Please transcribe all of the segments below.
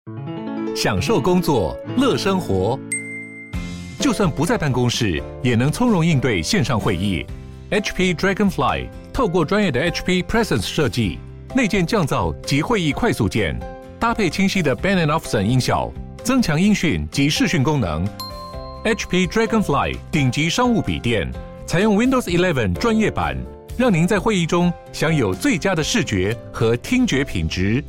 享受工作，樂生活。就算不在辦公室，也能從容應對線上會議。HP Dragonfly 透過專業的 HP Presence 設計，內建降噪及會議快速鍵，搭配清晰的 Bang & Olufsen 音效，增強音訊及視訊功能。HP Dragonfly 頂級商務筆電，採用 Windows 11專業版，讓您在會議中享有最佳的視覺和聽覺品質。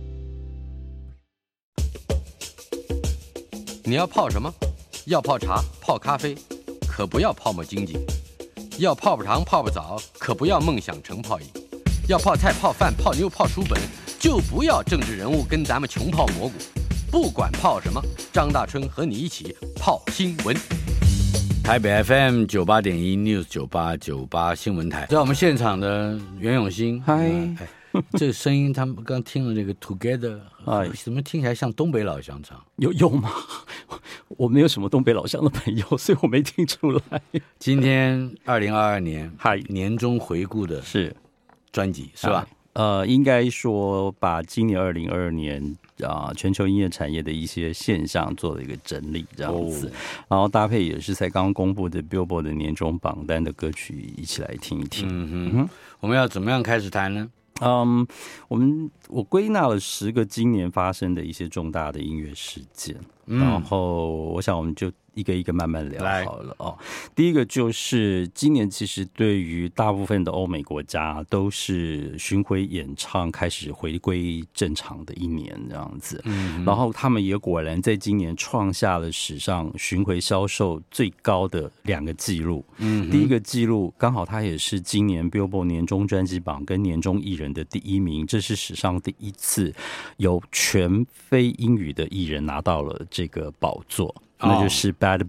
你要泡什麼？要泡茶、泡咖啡，可不要泡沫經濟；要泡泡糖、泡泡澡，可不要夢想成泡影；要泡菜、泡飯、泡妞、泡書本，就不要政治人物跟咱們窮泡蘑菇。不管泡什麼，張大春和你一起泡新聞。台北 FM 98.1 News 9898新聞台，在我們現場的袁永新， 嗨。 這個聲音，他們剛聽了那個 Together， 怎麼聽起來像東北老鄉唱？ 有嗎？我沒有什麼東北老鄉的朋友，所以我沒聽出來。 今天2022年年終回顧的是專輯是吧？ 應該說把今年2022年全球音樂產業的一些現象做了一個整理，這樣子，然後搭配也是才剛剛公布的 Billboard 的年終榜單的歌曲，一起來聽一聽。 我們要怎麼樣開始談呢？ 我歸納了10個今年發生的一些重大的音樂事件，然後我想我們就一個一個慢慢聊好了哦。第一個就是今年其實對於大部分的歐美國家都是巡迴演唱開始回歸正常的一年這樣子，然後他們也果然在今年創下了史上巡迴銷售最高的2個紀錄。第一個紀錄剛好它也是今年 Billboard 年終專輯榜跟年終藝人的第1名，這是史上第一次有全非英語的藝人拿到了這個寶座。那就是 Bad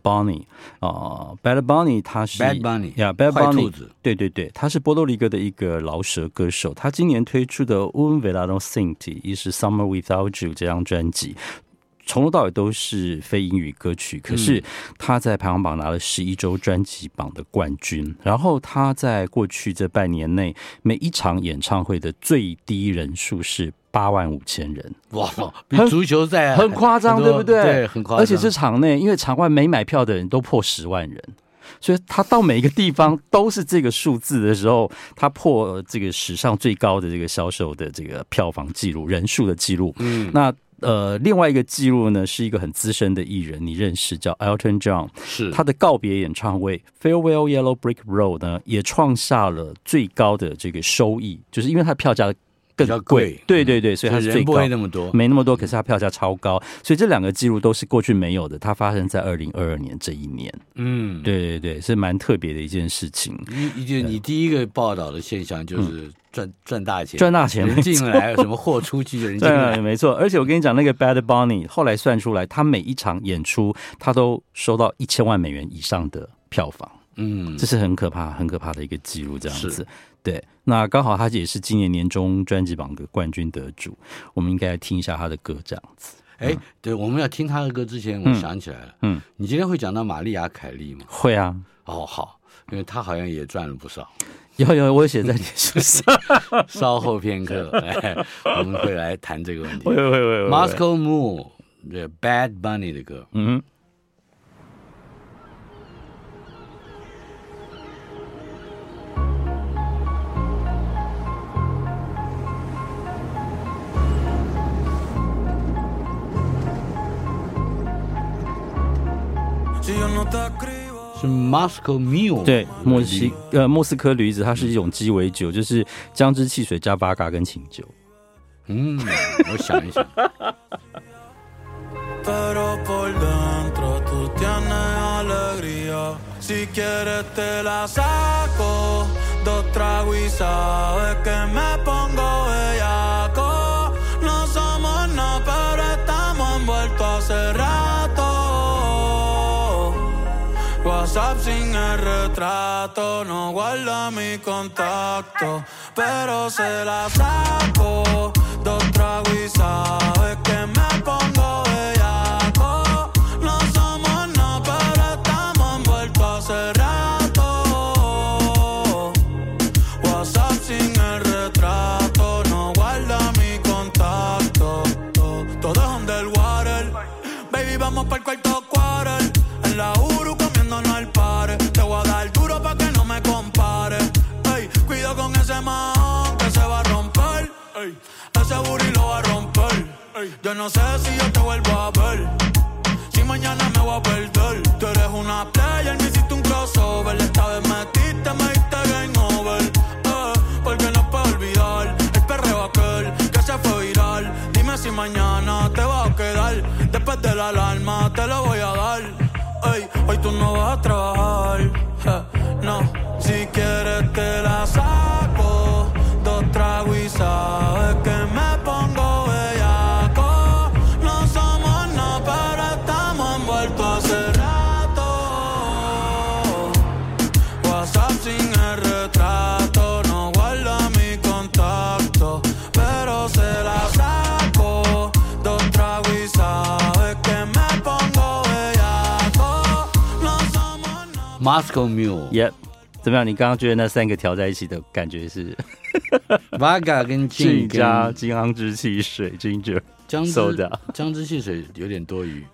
Bunny，Bad Bunny 他是 Bad Bunny， Bad Bunny， 壞兔子， 對，他是波多黎各的一個饒舌歌手。他今年推出的 Un Verano Sin Ti， 也是 Summer Without You 這張專輯，從頭到尾都是非英語歌曲，可是他在排行榜拿了11周專輯榜的冠軍。然後他在過去這半年內，每一場演唱會的最低人數是85000人， 哇，比足球赛很誇張，對不對？ 對，很誇張。 而且是場內，因為場外沒買票的人都破10萬人，所以他到每一個地方都是這個數字的時候，他破這個史上最高的這個銷售的這個票房記錄、人數的記錄。那另外一個記錄呢，是一個很資深的藝人，你認識，叫 Elton John， 是他的告別演唱會 Farewell Yellow Brick Road 呢，也創下了最高的這個收益，就是因為他的票價更貴，對，所以它是最高， 人不會那麼多， 沒那麼多，可是它票價超高，所以這2個記錄都是過去沒有的，它發生在2022年這一年。對，是蠻特別的一件事情。 你第一個報道的現象就是賺大錢，人進來，什麼貨出去的人進來， 對，沒錯。而且我跟你講，那個 Bad Bunny 後來算出來，他每一場演出他都收到1000萬美元以上的票房。這是很可怕的一個記錄，這樣子。对，那剛好他也是今年年終專輯榜的冠軍得主，我們應該來聽一下他的歌，這樣子。 對，我們要聽他的歌之前，我想起來了，你今天會講到瑪麗亞凱莉嗎？ 會啊。 好，因為他好像也賺了不少。 有，我寫在臉書上。 稍後片刻，我們會來談這個問題。 會。 Moscow Mule， Bad Bunny 的歌。是 Moscow Mule， 对，莫斯科驴子，它是一種雞尾酒，就是薑汁汽水加八嘎跟清酒。 我想一想。 WhatsApp sin el retrato, no guarda mi contacto, pero se la saco, 2 tragos y sabes que me pongo bellaco. No somos nada, pero estamos envueltos hace rato. WhatsApp sin el retrato, no guarda mi contacto, todo es donde el quarter. Baby, vamos pa'l cuarto quarter. En la Uru comiéndonos al pare. Te voy a dar duro pa' que no me compare. Ey, cuido con ese man que se va a romper. Ey, ese booty lo va a romper. Ey, yo no sé si yo te vuelvo a ver. Si mañana me voy a perder. Tú eres una player, me hiciste un crossover. Esta vez metiste, me diste game over. Porque no puedo olvidar el perreo aquel que se fue viral. Dime si mañana te vas a quedar. Después de la alarma te lo voy a dar. Ey, hoy tú no vas a trabajar. No, si quieres te la saco. 2 tragos y sabes que me pongo bellaco. No somos nada, pero estamos envueltos hace rato. WhatsApp sin el retrato, no guarda mi contacto, pero se la saco. 2 tragos y sabes que me pongo bellaco. No somos nada. Moscow Mule。 Yep。怎么樣？你剛剛覺得那3個調在一起的感覺是 Vodka 跟 Gin 加金昂之汽水 Ginger Soda， 姜汁汽水有點多餘。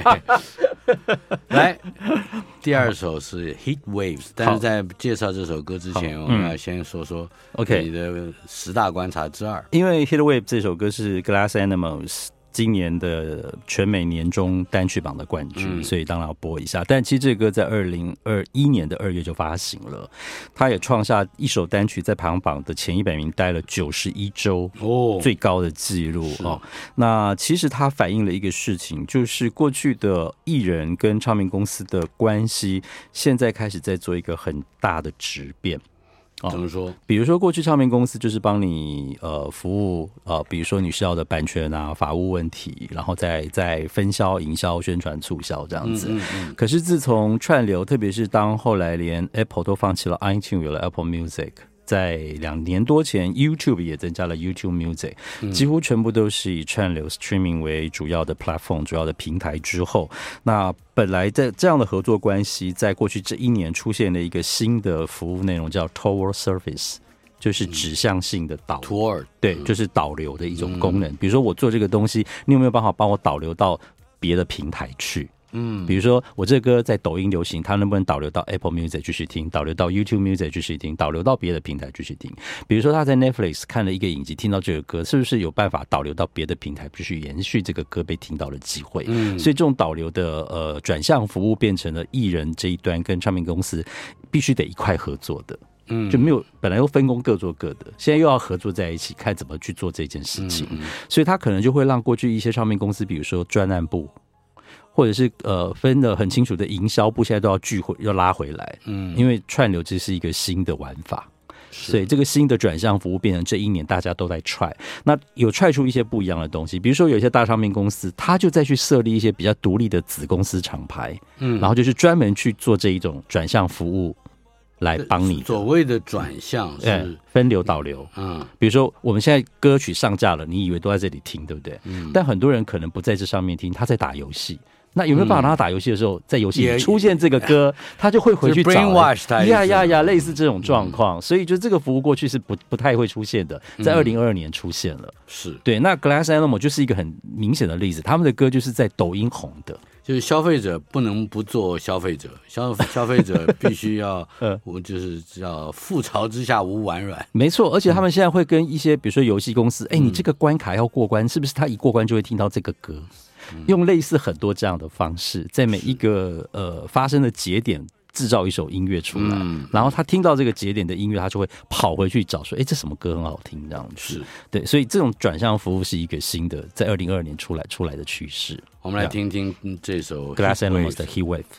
來，第2首是 Heat Waves， 但是在介紹這首歌之前，我們要先說說 你的10大觀察之2。 因為 Heat Wave 這首歌是 Glass Animals今年的全美年終單曲榜的冠軍，所以當然要播一下。但其實這個歌在2021年的2月就發行了，它也創下一首單曲在排行榜的前100名待了91週最高的記錄哦。那其實它反映了一個事情，就是過去的藝人跟唱片公司的關係，現在開始在做一個很大的質變。 怎麼說？ 比如說，過去唱片公司就是幫你服務比如說你需要的版權啊、法務問題，然後再分銷、營銷、宣傳、促銷這樣子。可是自從串流，特別是當後來連 Apple 都放棄了 iTunes， 有了 Apple Music。在2年多前 YouTube 也增加了 YouTube Music， 幾乎全部都是以串流 streaming 為主要的 platform 主要的平台之後，那本來在這樣的合作關係在過去這1年出現了一個新的服務內容叫 Toward Service， 就是指向性的導流，對，就是導流的一種功能。比如說我做這個東西，你有沒有辦法幫我導流到別的平台去？比如說我這個歌在抖音流行，它能不能導流到 Apple Music 繼續聽，導流到 YouTube Music 繼續聽，導流到別的平台繼續聽。比如說他在 Netflix 看了一個影集，聽到這個歌，是不是有辦法導流到別的平台，繼續延續這個歌被聽到的機會？所以這種導流的轉向服務變成了藝人這一端跟唱片公司必須得一塊合作的。就沒有本來又分工各做各的，現在又要合作在一起，看怎麼去做這件事情。所以他可能就會讓過去一些唱片公司，比如說專案部，或者是分得很清楚的營銷部，現在都要聚回，要拉回來。因為串流這是一個新的玩法，所以這個新的轉向服務變成這1年大家都在踹。那有踹出一些不一樣的東西，比如說有一些大唱片公司，他就再去設立一些比較獨立的子公司廠牌，然後就是專門去做這一種轉向服務。來幫你所謂的轉向是分流導流，比如說我們現在歌曲上架了，你以為都在這裡聽，對不對？但很多人可能不在這上面聽，他在打遊戲。那有沒有辦法讓他打遊戲的時候，在遊戲裡出現這個歌，他就會回去找類似這種狀況。所以就這個服務過去是不太會出現的，在2022年出現了。 是對。 那 Glass Animal 就是一個很明顯的例子，他們的歌就是在抖音紅的。 就是消費者不能不做消費者，消費者必須要，我就是叫覆巢之下無完卵。 沒錯，而且他們現在會跟一些比如說遊戲公司，你這個關卡要過關，是不是他一過關就會聽到這個歌？用類似很多這樣的方式，在每一個發生的節點製造一首音樂出來，然後他聽到這個節點的音樂，他就會跑回去找說，這什麼歌很好聽，這樣子。是對，所以這種轉向服務是一個新的，在2022年出來的趨勢。 我們來聽聽這首 Glass Animals 的 Heat Wave。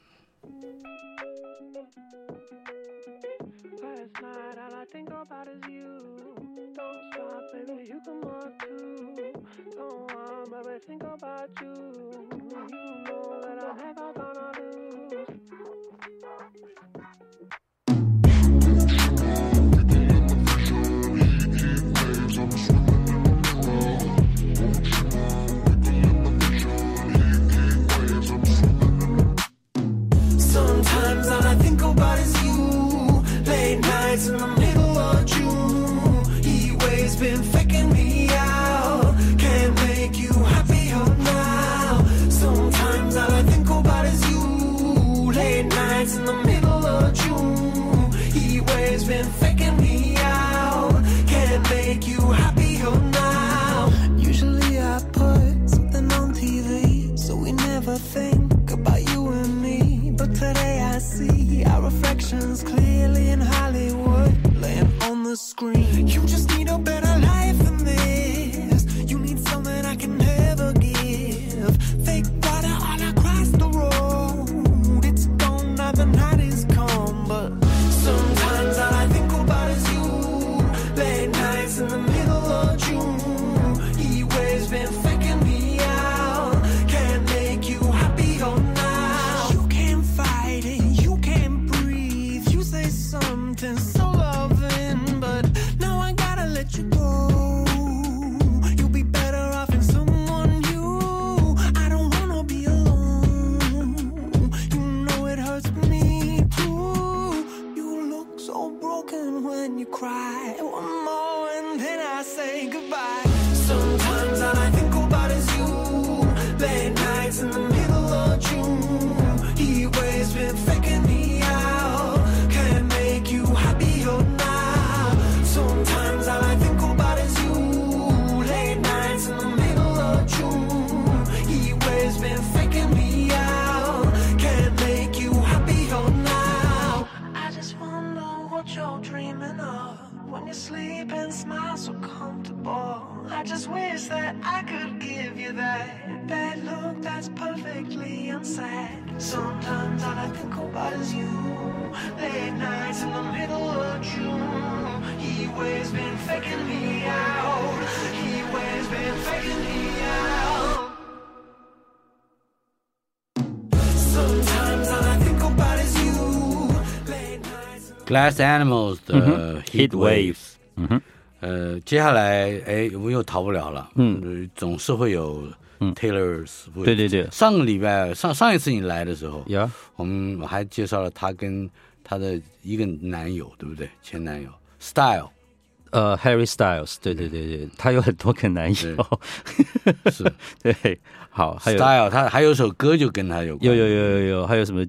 Sometimes all I think about is you. Late nights in the middle of June. Heat waves been faking me out. Can't make you happy all night. that bad look that's perfectly unsaid. Sometimes all I think about is you. Late nights in the middle of June. He always been faking me out. He always been faking me out. Sometimes all I think about is you. Late nights. Glass Animals 的 Heat Waves。接下來我们又逃不了了。总是會有 Taylor Swift。對對對，上個禮拜上一次你來的時候，我們還介紹了他跟他的一個男友，對不對？前男友 Style。 Harry Styles， 對對對對，他有很多個男友， 是， 對，好，還有 Style， 他還有首歌就跟他有關， 有，還有什麼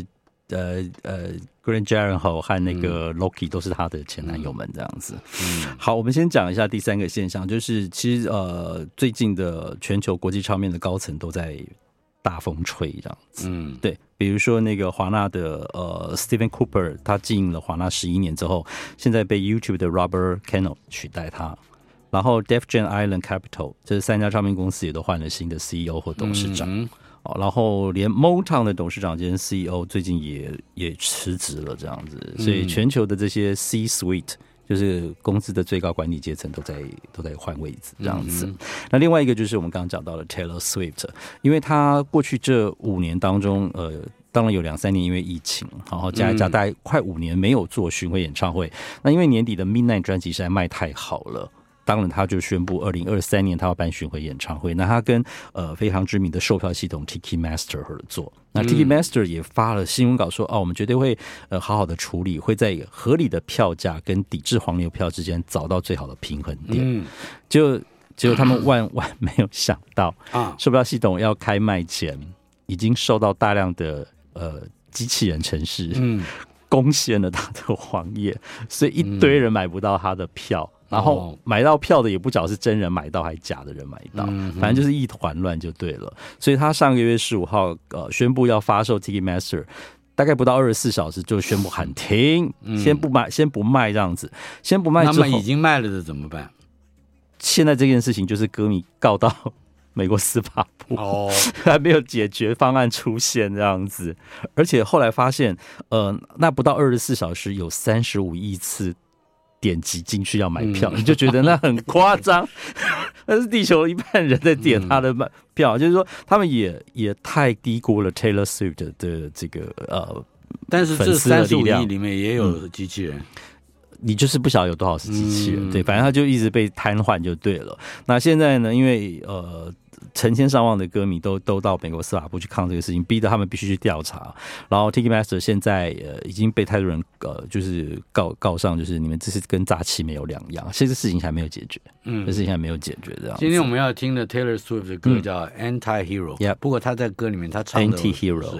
Grant Gyllenhaal 和那個 Loki 都是他的前男友們這樣子。好，我們先講一下第三個現象，就是其實最近的全球國際唱片的高層都在大風吹這樣子。對。比如說那個華納的Steven Cooper， 他經營了華納11年之後，現在被 YouTube 的 Robert Cano 取代他。然後 Def Jam Island Capital 這3家唱片公司也都換了新的 CEO 或董事長。然後連 Motown 的董事長兼 CEO 最近也辭職了這樣子，所以全球的這些 C-suite 就是公司的最高管理階層都在換位置這樣子。那另外一個就是我們剛剛講到的 Taylor Swift， 因為他過去這5年當中，當然有2-3年因為疫情，然後加一加大概快5年沒有做巡迴演唱會。那因為年底的 Midnight 專輯實在賣太好了。當然，他就宣布2023年他要辦巡迴演唱會。那他跟非常知名的售票系統 Ticketmaster 合作。那 Ticketmaster 也發了新聞稿說，我們絕對會好好的處理，會在合理的票價跟抵制黃牛票之間找到最好的平衡點。結果他們萬萬沒有想到，售票系統要開賣前，已經受到大量的機器人程式攻陷了他的網頁，所以一堆人買不到他的票。然後買到票的也不曉得是真人買到還是假的人買到，反正就是一團亂就對了。所以他上個月15號宣布要發售 Ticketmaster， 大概不到24小時就宣布喊停，先不賣這樣子，先不賣之後。 那麼已經賣了的怎麼辦？ 現在這件事情就是歌迷告到美國司法部，還沒有解決方案出現這樣子。而且後來發現，那不到24小時有35億次點擊進去要買票，你就覺得那很誇張。那是地球一半人在點他的票，就是說他們也太低估了 Taylor Swift 的這個但是這35億裡面也有機器人。 你就是不曉得有多少是機器人，對，反正他就一直被癱瘓就對了。那現在呢，因為成千上万的歌迷都到美國司法部去抗這個事情，逼得他們必須去調查。然後 Ticketmaster 現在已經被太多人就是告上，就是你們這是跟詐欺沒有兩樣。這個事情還沒有解決，這事情還沒有解決這樣。 今天我們要聽的 Taylor Swift 的歌叫 Anti-Hero， 不過他在歌裡面他唱的是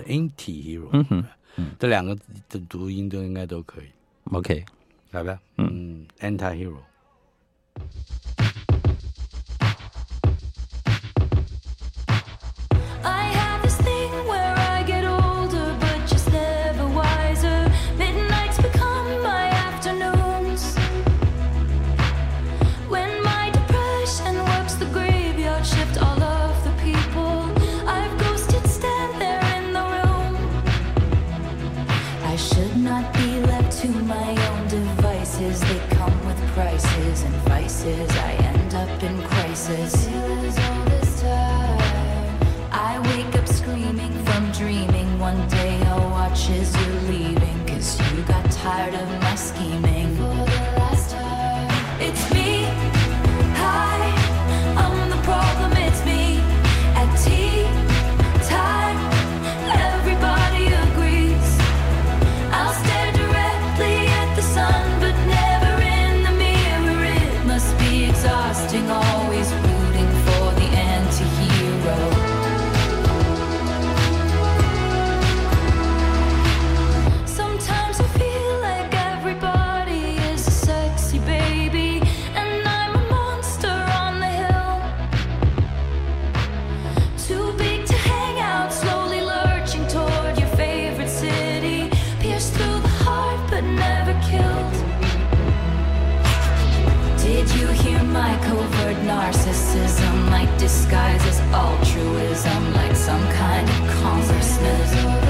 Anti-Hero， 這兩個的讀音都應該都可以。 OK。 來吧，Anti-Hero。 I end up in crisis. All this time, I wake up screaming from dreaming. One day I'll watch as you're leaving, 'cause you got tired of my scheming. For the last time, it's me. Hi, I'm the problem, it's me. At tea time, everybody agrees. I'll stare directly at the sun, but never exhausting, always rooting for the anti-hero. Sometimes I feel like everybody is a sexy baby, and I'm a monster on the hill. Too big to hang out, slowly lurching toward your favorite city. Pierced through the heart, but never killed. Did you hear my covert narcissism, like disguises altruism like some kind of congressman.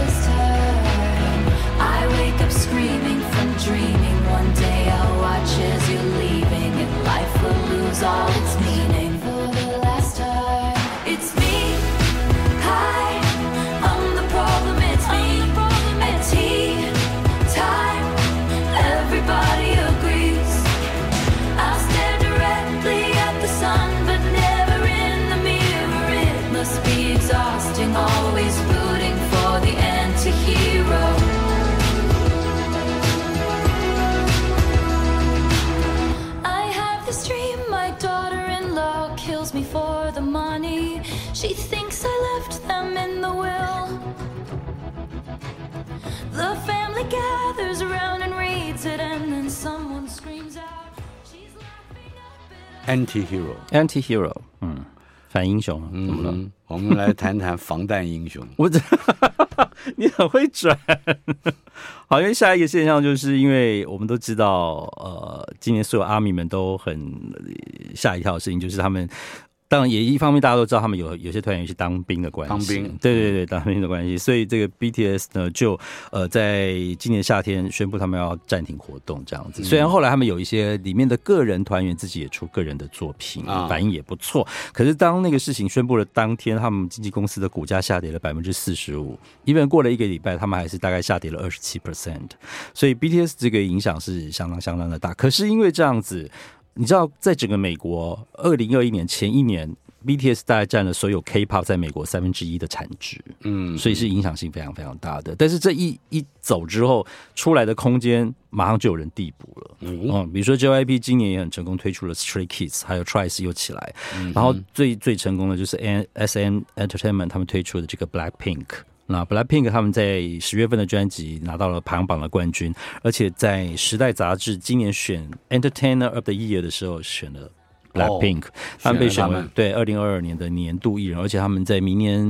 I wake up screaming from dreaming. One day I'll watch as you're leaving, and life will lose all its meaning. For the last time, it's me. Hi, I'm the problem. It's me. At tea time, everybody agrees. I'll stare directly at the sun, but never in the mirror. It must be exhausting, always rooting for the anti-hero. Me for the money. She thinks I left them in the will. The family gathers around and reads it, and then someone screams out, she's laughing up it. Anti-hero， 反英雄，怎么了？ 我们来談談防彈英雄。 你很會轉。好，因為下一個現象就是因為我們都知道，今年所有阿米們都很嚇一跳的事情，就是他們。當然，也一方面大家都知道，他們有些團員是當兵的關係，當兵，對，當兵的關係，所以這個 BTS 呢，就在今年夏天宣布他們要暫停活動，這樣子。雖然後來他們有一些裡面的個人團員自己也出個人的作品，反應也不錯，可是當那個事情宣布了當天，他們經紀公司的股價下跌了45%，even過了一個禮拜，他們還是大概下跌了27%，所以 BTS 這個影響是相當的大。可是因為這樣子。你知道，在整個美國，2021年前一年 ，BTS 大概佔了所有 K-pop 在美國1/3的產值，所以是影響性非常大的。但是這一走之後，出來的空間馬上就有人遞補了，比如說 JYP 今年也很成功推出了 Stray Kids， 還有 Twice 又起來，然後最成功的就是 SM Entertainment 他們推出的這個 Blackpink。那 Blackpink 他們在10月份的專輯拿到了排行榜的冠軍，而且在時代雜誌今年選 Entertainer of the Year 的時候選了 Blackpink，他們被選為對2022年的年度藝人，而且他們在明年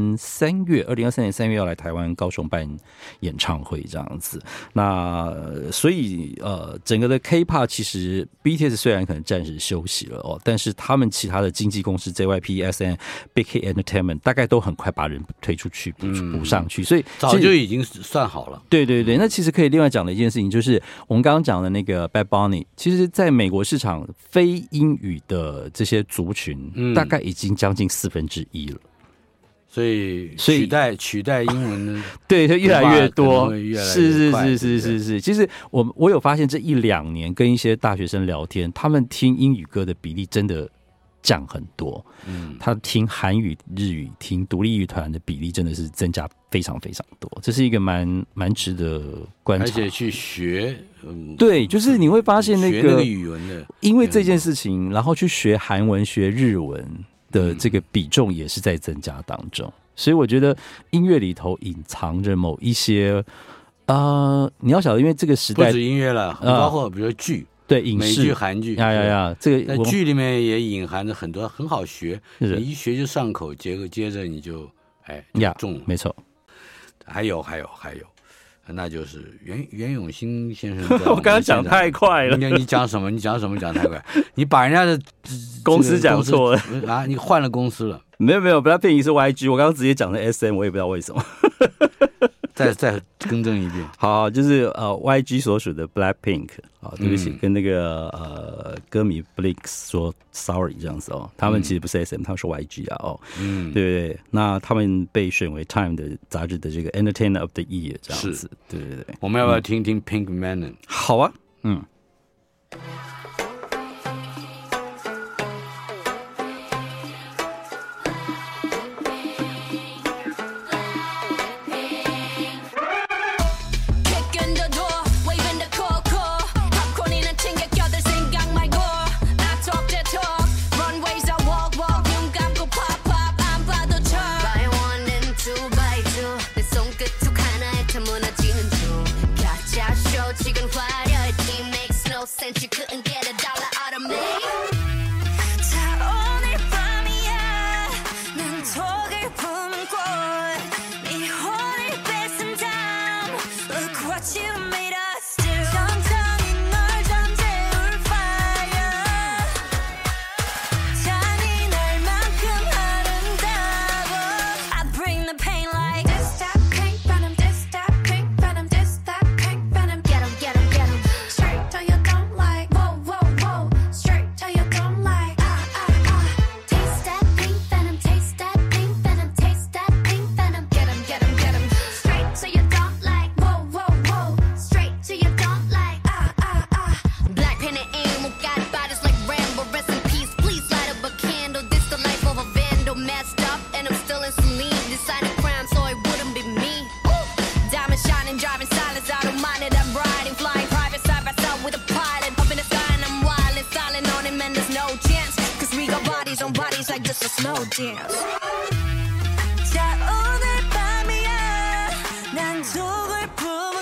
2023年3月要來台灣高雄辦演唱會這樣子。那所以整個的 K-pop 其實 BTS 雖然可能暫時休息了但是他們其他的經紀公司 JYP、SM、Big Hit Entertainment 大概都很快把人推出去補上去，所以早就已經算好了。 對，那其實可以另外講的一件事情就是我們剛剛講的那個 Bad Bunny， 其實在美國市場非英語的這些族群大概已經將近1/4了， 所以取代英文的對，會越來越多， 是。 其實我有發現這1-2年跟一些大學生聊天，他們聽英語歌的比例真的降很多，他聽韓語、日語、聽獨立樂團的比例真的是增加非常多，這是一個蠻值得觀察， 而且去學， 對，就是你會發現那個語文的， 因為這件事情，然後去學韓文、學日文的這個比重也是在增加當中，所以我覺得音樂裡頭隱藏着某一些你要曉得，因為這個時代不止音樂了，包括比如說劇。 對，影視、 美劇、韓劇， 這個在劇裡面也隱含着很多很好學，你一學就上口，接着你就中了， 沒錯。 還有，那就是袁永新先生。 我剛剛講太快了， 你講什麼？你講太快，你把人家的公司講錯了啊！你換了公司了？ 沒有，Blackpink是 YG， 我剛剛直接講的 SM， 我也不知道為什麼。 再更正一遍， 好，就是YG 所屬的 Blackpink， 好，對不起，跟那個歌迷 Blix 說 sorry 這樣子他們其實不是 SM， 他們是 YG 啊對不對？那他們被選為 Time 的雜誌的這個 Entertainer of the Year 這樣子，對。 我們要不要聽聽 Pink Manon？ 好啊， You couldn't no dance. 자 오늘 밤이야 난 독을 품은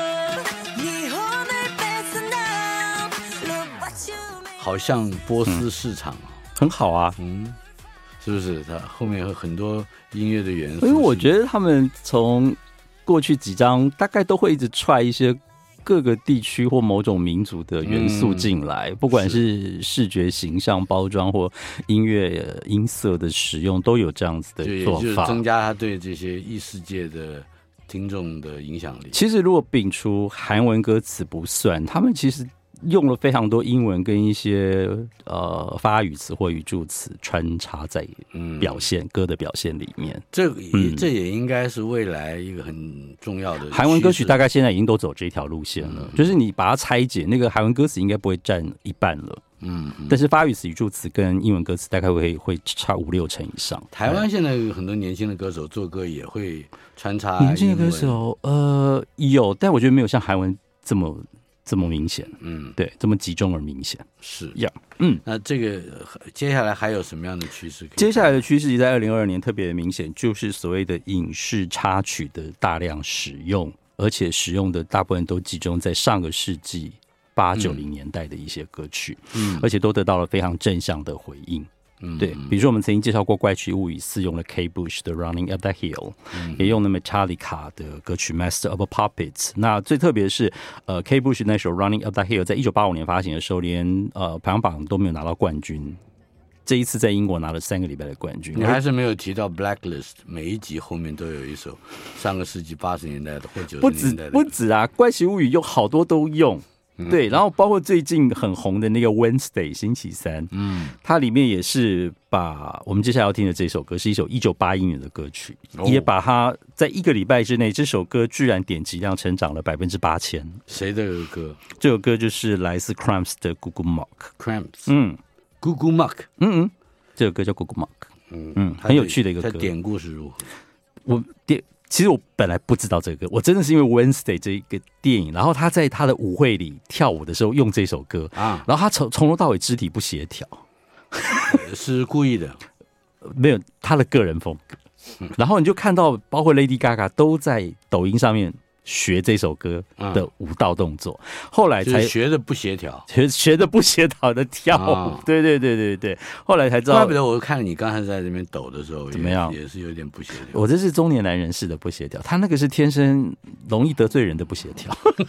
꽃네 혼을 뺏은 나 Look what you made 好像波斯市场很好啊， 是不是？它后面有很多音樂的元素。 因為我覺得他們從過去幾張大概都會一直踹一些各個地區或某種民族的元素進來，不管是視覺形象包裝或音樂音色的使用，都有這樣子的做法， 就是增加他對這些異世界的聽眾的影響力。 其實如果摒除韓文歌詞不算，他們其實用了非常多英文跟一些發語詞或語助詞穿插在表現歌的表現裡面，這也應該是未來一個很重要的韓文歌曲，大概現在已經都走這條路線了，就是你把它拆解，那個韓文歌詞應該不會佔一半了，但是發語詞、語助詞跟英文歌詞大概會差5-6成以上。 台灣現在有很多年輕的歌手做歌也會穿插年輕的歌手，有，但我覺得沒有像韓文這麼明顯，對，這麼集中而明顯， 是呀， 那這個接下來還有什麼樣的趨勢？ 接下來的趨勢在2022年特別的明顯，就是所謂的影視插曲的大量使用，而且使用的大部分都集中在上個世紀80-90年代的一些歌曲，而且都得到了非常正向的回應。對，比如說我們曾經介紹過《怪奇物語4》用了 Kate Bush 的 Running Up That Hill，也用了 Metallica 的歌曲 Master of Puppets。那最特別的是Kate Bush 那首 Running Up That Hill 在1985年發行的時候，連排行榜都沒有拿到冠軍。這一次在英國拿了3個禮拜的冠軍。 你還是沒有提到 Blacklist， 每一集後面都有一首上個世紀80年代的或90年代的。 不止啊，《怪奇物語》有好多都用。對，然後包括最近很紅的那個 Wednesday 星期三，它裡面也是把我們接下來要聽的這首歌是一首1981年的歌曲，也把它在1個禮拜之內，這首歌居然點擊量成長了8000%。 誰的歌？ 這首歌就是來自 Cramps 的 Google Mark。Google Mark， 這首歌叫 Google Mark， 很有趣的一個歌。 它典故是如何？其實我本來不知道這個歌，我真的是因為 Wednesday 這一個電影，然後他在他的舞會裡跳舞的時候用這首歌啊，然後他從頭到尾肢體不協調， 是故意的， 沒有他的個人風格。然後你就看到，包括 Lady Gaga 都在抖音上面學這首歌的舞蹈動作，後來才學的不協調， 學的不協調的跳舞，對，後來才知道。 怪不得我看你剛才在這邊抖的時候， 怎麼樣， 也是有點不協調。 我這是中年男人式的不協調，他那個是天生容易得罪人的不協調。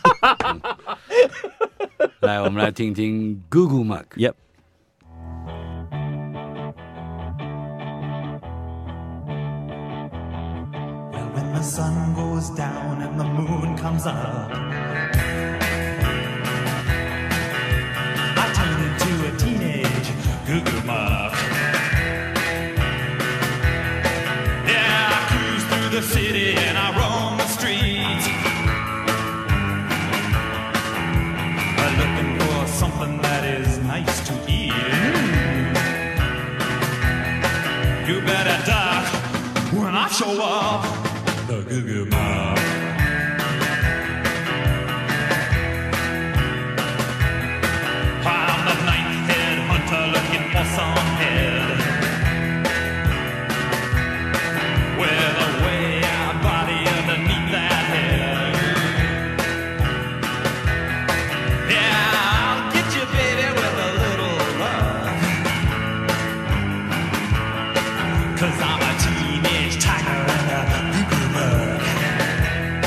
來，我們來聽聽 Google Mark。Yep。 The sun goes down and the moon comes up, I turn into a teenage Google Mark. Yeah, I cruise through the city and I roam the streets, looking for something that is nice to eat. You better duck when I show up.The Google Mark. I'm the ninth head hunter looking for some head with a way out body underneath that head. Yeah, I'll get you, baby, with a little love, 'cause I'm a teenage tiger and a Google Mark.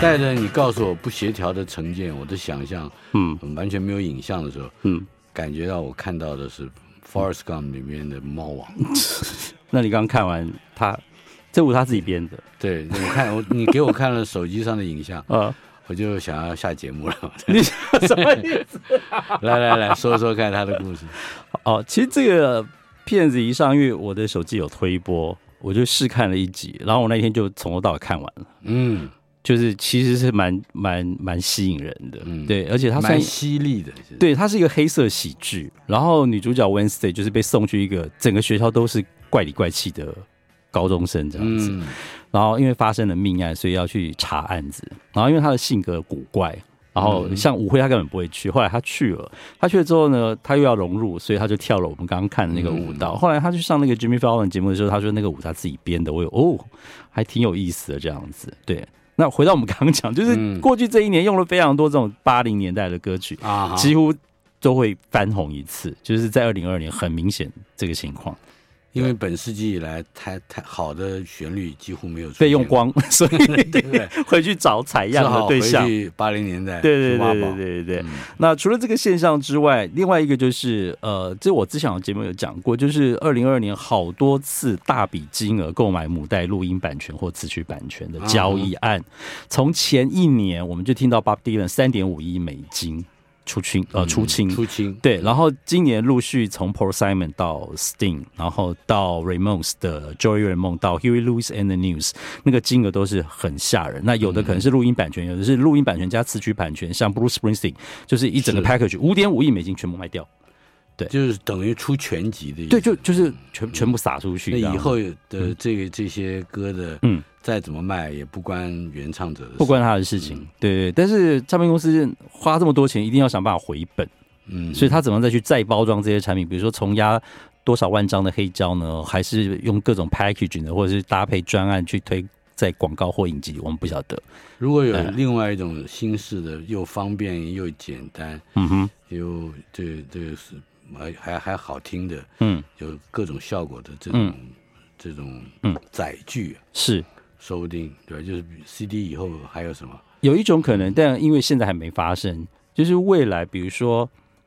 帶着你告訴我不協調的成見，我的想象，完全沒有影像的時候，感覺到我看到的是《Forrest Gump》裡面的貓王。 那你剛剛看完這舞他自己編的？對， 你給我看了手機上的影像，我就想要下節目了。 你什麼意思？ 來說說看他的故事。 其實這個片子一上，因為我的手機有推播，我就試看了一集，然後我那天就從頭到尾看完了。就是其實是蠻吸引人的，對，而且它算蠻犀利的， 对，它是一個黑色喜劇，然後女主角 Wednesday 就是被送去一個整個學校都是怪裡怪氣的高中生這樣子，然後因為發生了命案，所以要去查案子，然後因為她的性格古怪，然後像舞會她根本不會去，後來她去了之後呢，她又要融入，所以她就跳了我們剛剛看的那個舞蹈，後來她去上那個 Jimmy Fallon 節目的時候，她說那個舞她自己編的，我有還挺有意思的這樣子，對。那回到我們剛剛講，就是過去這一年用了非常多這種80年代的歌曲，幾乎都會翻紅一次，就是在2022年很明顯這個情況。 因為本世紀以來太好的旋律幾乎沒有被用光，所以對回去找採樣的對象， 回去80年代， 對。那除了這個現象之外，另外一個就是這我之前的節目有講過，就是2022年好多次大筆金額購買母帶錄音版權或詞曲版權的交易案，從前一年我們就聽到 Bob Dylan 3.5億美金。出清，对，然後今年陸續從 Paul Simon 到 Sting， 然後到 Ramones 的 Joey Ramone 到 Huey Lewis and the News， 那個金額都是很嚇人。那有的可能是錄音版權，有的是錄音版權加詞曲版權，像 Bruce Springsteen 就是一整個 package 5.5億美金全部賣掉。对， 就是等於出全集的意思。 对，就是全部撒出去。 那以後的這些歌的，再怎麼賣也不關原唱者的事， 不關他的事情。對，但是唱片公司花這麼多錢，一定要想辦法回本。所以他怎麼再去再包裝這些產品？比如說重壓多少萬張的黑膠呢？還是用各種 packaging 的，或者是搭配專案去推在廣告或影集？我們不曉得。 如果有另外一種新式的，又方便又簡單，又這個是。還好聽的，有各種效果的這種載具，是說不定對，就是 CD 以後還有什麼？有一種可能，但因為現在還沒發生，就是未來比如說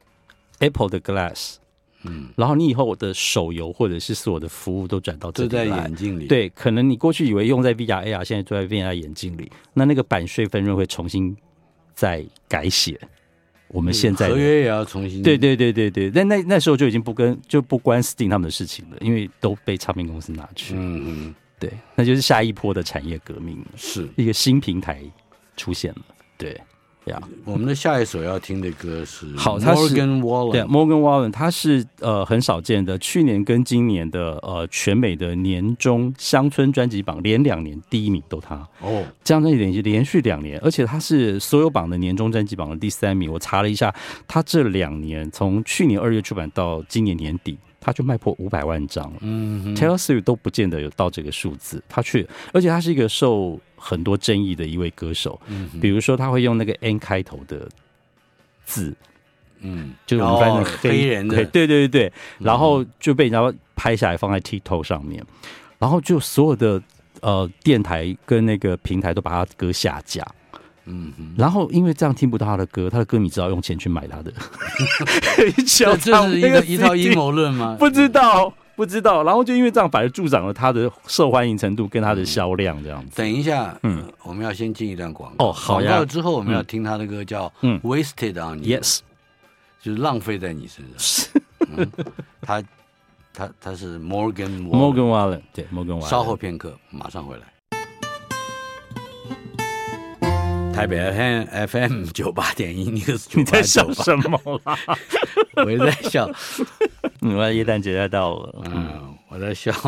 Apple 的 Glass，然後你以後的手遊或者是所有的服務都轉到這裡來，就在眼鏡裡，對，可能你過去以為用在 VR、AR， 現在都在 VR 眼鏡裡，那個版稅分潤會重新再改寫。我們現在合約也要重新對，但那時候就已經不關 Sting 他們的事情了，因為都被唱片公司拿去。對，那就是下一波的產業革命，是一個新平台出現了。对。我們的下一首要聽的歌是 Morgan Wallen， 對 ，Morgan Wallen， 他是很少見的，去年跟今年的全美的年終鄉村專輯榜連2年第1名都他哦，這樣的連續2年，而且他是所有榜的年終專輯榜的第3名。我查了一下，他這2年從去年2月出版到今年年底，他就賣破500萬張了。Taylor Swift 都不見得有到這個數字，而且他是一個受很多爭議的一位歌手，比如說他會用那個 N 開頭的字，就是我們翻成黑人的，對，然後就被人家拍下來放在 TikTok 上面，然後就所有的電台跟那個平台都把他的歌下架。然後因為這樣聽不到他的歌，他的歌迷只好用錢去買他的。這是一套陰謀論嗎？不知道。然後就因為這樣，反而助長了他的受歡迎程度跟他的銷量這樣子。等一下，我們要先進一段廣告。好呀。廣告之後我們要聽他的歌叫 Wasted on You， Yes， 就是浪費在你身上。他是 Morgan Wallen， 對 Morgan Wallen。稍後片刻，馬上回來。台北 FM 98.1 News， 你在笑什麼啦？我也在笑。我耶誕節要到了，我在笑。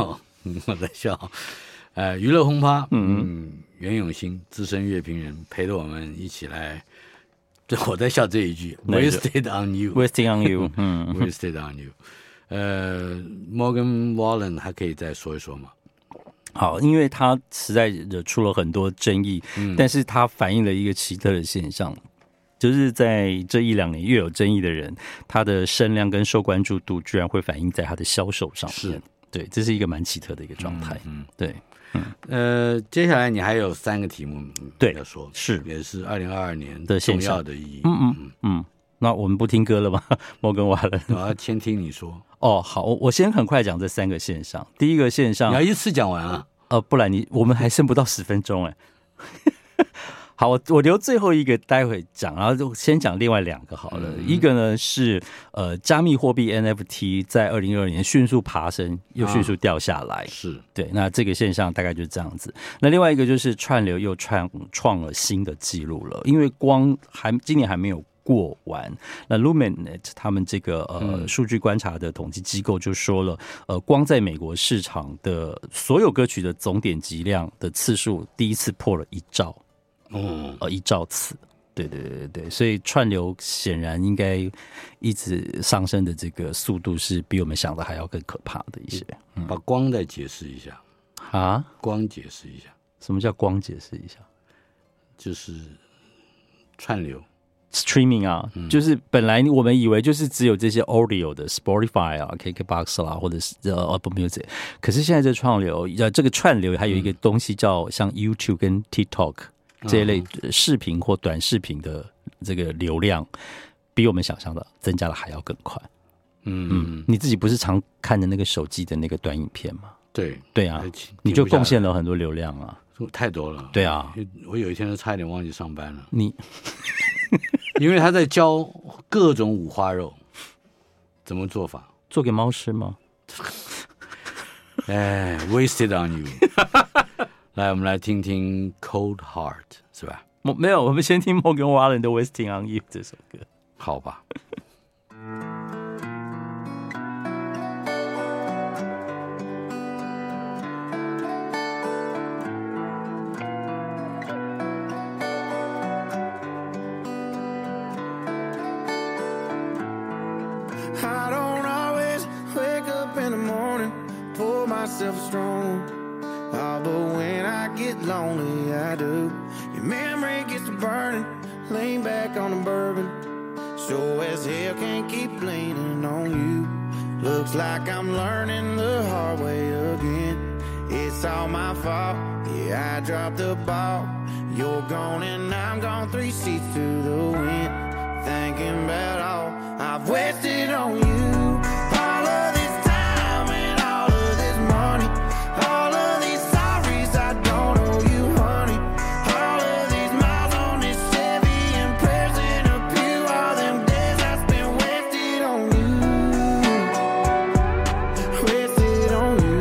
娛樂轟趴，袁永新資深樂評人陪着我們一起來。我在笑這一句 ，Wasted on you，Wasted on you，Wasted on you。Morgan Wallen 還可以再說一說嗎？好，因為他實在惹出了很多爭議，但是他反映了一個奇特的現象，就是在這1-2年越有爭議的人，他的聲量跟受關注度居然會反映在他的銷售上面。是， 對，這是一個蠻奇特的一個狀態。对。 接下來你還有3個題目要說， 是也是2022年的重要的意義。 那我们不聽歌了嗎？摩根瓦倫， 我要先聽你說。 哦，好，我先很快講這3個線上。第一個線上， 你要一次講完啊？ 不然我們還剩不到10分鐘哎。好，我留最後一個待會講，然後就先講另外2個好了。一個呢是加密貨幣 NFT 在2022年迅速爬升，又迅速掉下來。是对，那這個現象大概就是這樣子。那另外一個就是串流又創了新的記錄了，因為光今年還沒有過完。那 Luminate 他們這個數據觀察的統計機構就說了，光在美國市場的所有歌曲的總點擊量的次數第一次破了1兆。1兆次，对，所以串流顯然應該一直上升的這個速度是比我們想的還要更可怕的一些。 把光再解釋一下啊？ 光解釋一下， 什麼叫光解釋一下？ 就是串流 streaming 啊，就是本來我們以為就是只有這些 audio 的 Spotify 啊、KKBox 啦，或者是Apple Music， 可是現在這個串流還有一個東西叫像 YouTube 跟 TikTok。這一類視頻或短視頻的這個流量，比我們想象的增加的還要更快。你自己不是常看的那個手機的那個短影片嗎？对啊，你就貢獻了很多流量啊， 太多了。对啊，我有一天都差一點忘記上班了。因為他在教各種五花肉怎麼做法， 做給貓吃嗎 ？Wasted on you。來，我們來聽聽 Cold Heart， 是吧？ 沒有，我們先聽 Morgan Wallen 的 Wasting on You 這首歌。 好吧。 I don't always wake up in the morning, pour myself a strong. But when I get lonely, I do. Your memory gets to burning, lean back on the bourbon. Sure as hell can't keep leaning on you. Looks like I'm learning the hard way again. It's all my fault, yeah, I dropped the ball. You're gone and I'm gone, 3 seats to the wind. Thinking about all I've wasted on you. All of this time and all of this money. All of these sorries I don't owe you, honey. All of these miles on this Chevy and prayers in a pew. All them days I spent wasted on you. Wasted on you.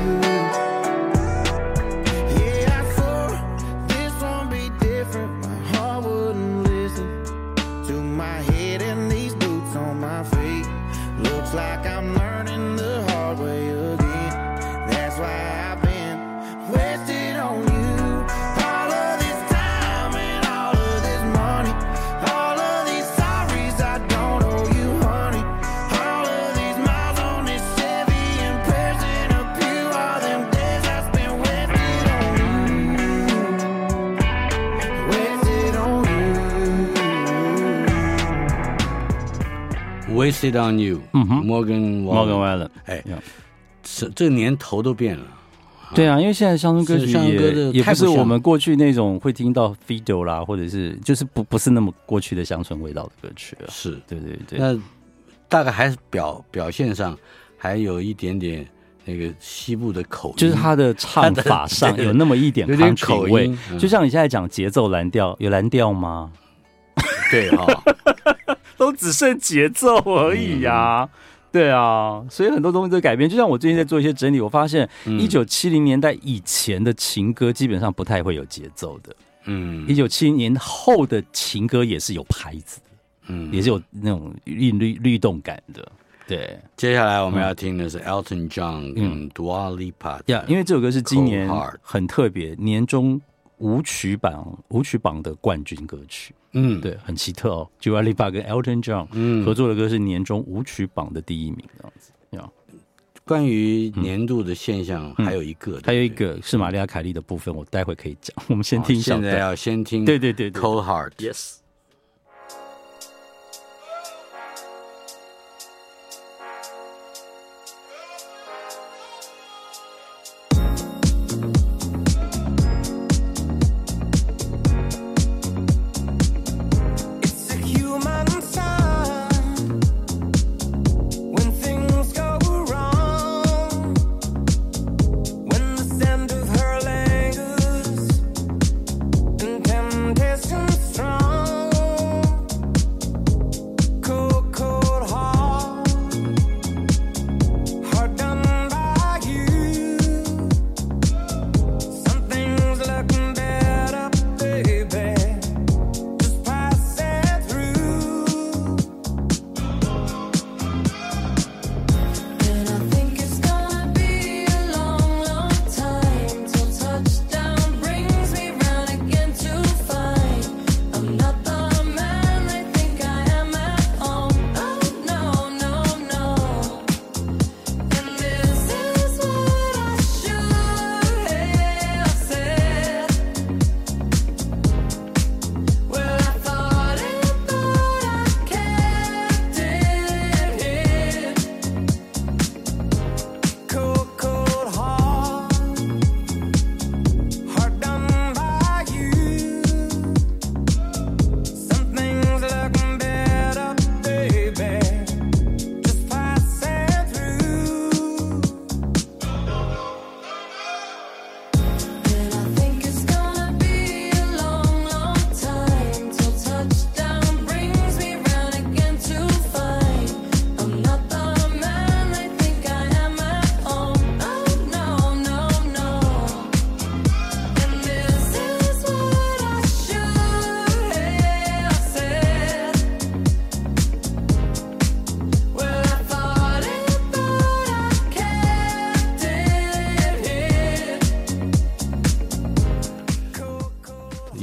Yeah, I swore this won't be different. My heart wouldn't listen to my head and these boots on my feet. Looks like I'm learning the hard way again. That's why I've been wasted on you. All of this time and all of this money. All of these sorries I don't owe you, honey. All of these miles on this Chevy and prayers in a pew. All them days I spent wasted on you. Wasted on you. Wasted on you， Morgan Wallen， 哎，这个年头都变了。 对啊，因为现在乡村歌曲也不是我们过去那种会听到 Fido 啦，或者是就是不是那麼過去的鄉村味道的歌曲了。 是， 對對對。 那大概還是表現上還有一點點那個西部的口音， 就是他的唱法上有那麼一點 country 味，就像你現在講節奏藍調，有藍調嗎？ 對哈， 都只剩節奏而已呀。對啊，所以很多東西都改變。就像我最近在做一些整理，我發現1970年代以前的情歌基本上不太會有節奏的。1970年後的情歌也是有拍子的，也是有那種律動感的。對， 接下來我們要聽的是 Elton John 跟 Dua Lipa。 因為這首歌是今年很特別，年終舞曲榜的冠軍歌曲。對，很奇特哦。Dua Lipa 跟 Elton John 合作的歌是年終舞曲榜的第1名，這樣子。 關於年度的現象，還有一個， 還有一個是瑪麗亞凱莉的部分，我待會可以講。我們先聽一下。 現在要先聽， 對 Cold Heart。Yes。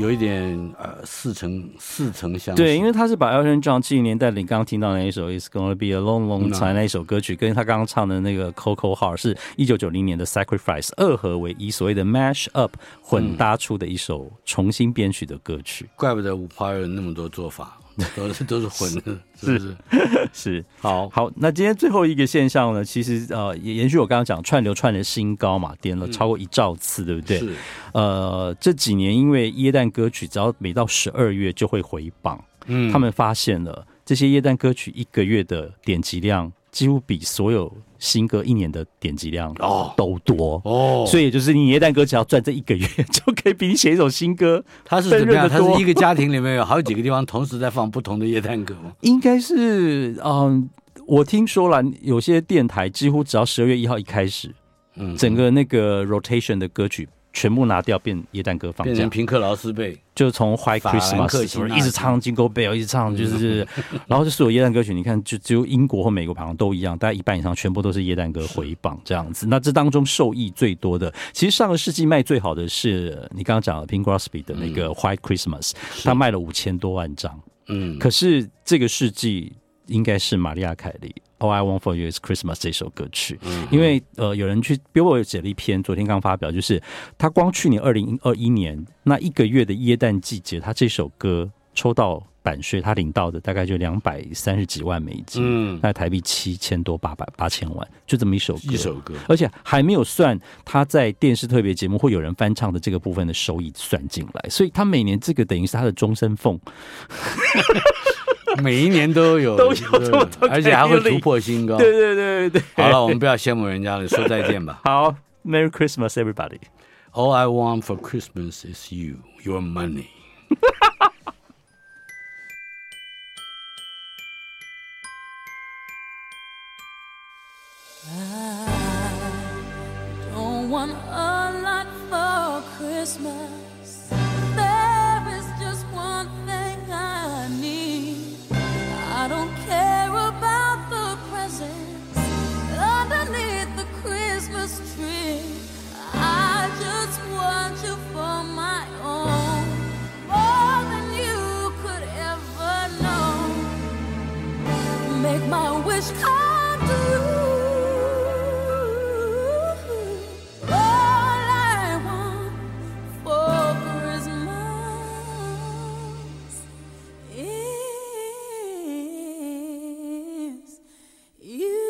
有一點似曾相識。 對，因為他是把 Elton John 70年代你剛剛聽到的那一首 It's Gonna Be a Long Long Time 那一首歌曲，跟他剛剛唱的那個 Coco Heart 是1990年的 Sacrifice 二合為一，所謂的 mash up 混搭出的一首重新編曲的歌曲。 怪不得五花有那麼多做法。都是混的，是不是？ 是。 好， 那今天最後一個現象呢，其實也延續我剛剛講串流串的新高嘛，點了超過1兆次，對不對？ 是。 這幾年因為耶誕歌曲只要每到12月就會回榜，他們發現了這些耶誕歌曲1個月的點擊量幾乎比所有新歌1年的點擊量都多所以也就是你耶誕歌只要賺這1個月，就可以比你寫一首新歌。 它是怎麼樣？它是一個家庭裡面有好幾個地方同時在放不同的耶誕歌嗎？ 應該是我聽說了，有些電台幾乎只要12月1號一開始，整個那個 rotation 的歌曲全部拿掉，變耶誕歌放假， 變成平克勞斯貝， 就從 White Christmas 一直唱 Jingle Bell， 一直唱就是，然後就所有耶誕歌曲，你看就只有英國或美國好像都一樣，大概一半以上全部都是耶誕歌回榜這樣子。那這當中受益最多的，其實上個世紀賣最好的是你剛剛講的 Bing Crosby 的那個 White Christmas，他賣了5000多萬張。可是這個世紀應該是瑪麗亞凱莉。All I Want for You is Christmas 這首歌曲，因為有人去 Billboard 寫了一篇，昨天剛發表，就是他光去年2021年那1個月的耶誕季節，他這首歌抽到版稅，他領到的大概就230幾萬美金，那台幣7000多8000萬，就這麼一首歌，而且還沒有算他在電視特別節目或有人翻唱的這個部分的收益算進來，所以他每年這個等於是他的終身俸。 每一年都有這麼多，而且還會突破新高。 对。 好了，我們不要羡慕人家了，說再見吧。 好 ，Merry Christmas, everybody. All I want for Christmas is you, your money. I don't want a lot for Christmas. I don't care about the presents underneath the Christmas tree. I just want you for my own, more than you could ever know. Make my wish come true. All I want for Christmas is you.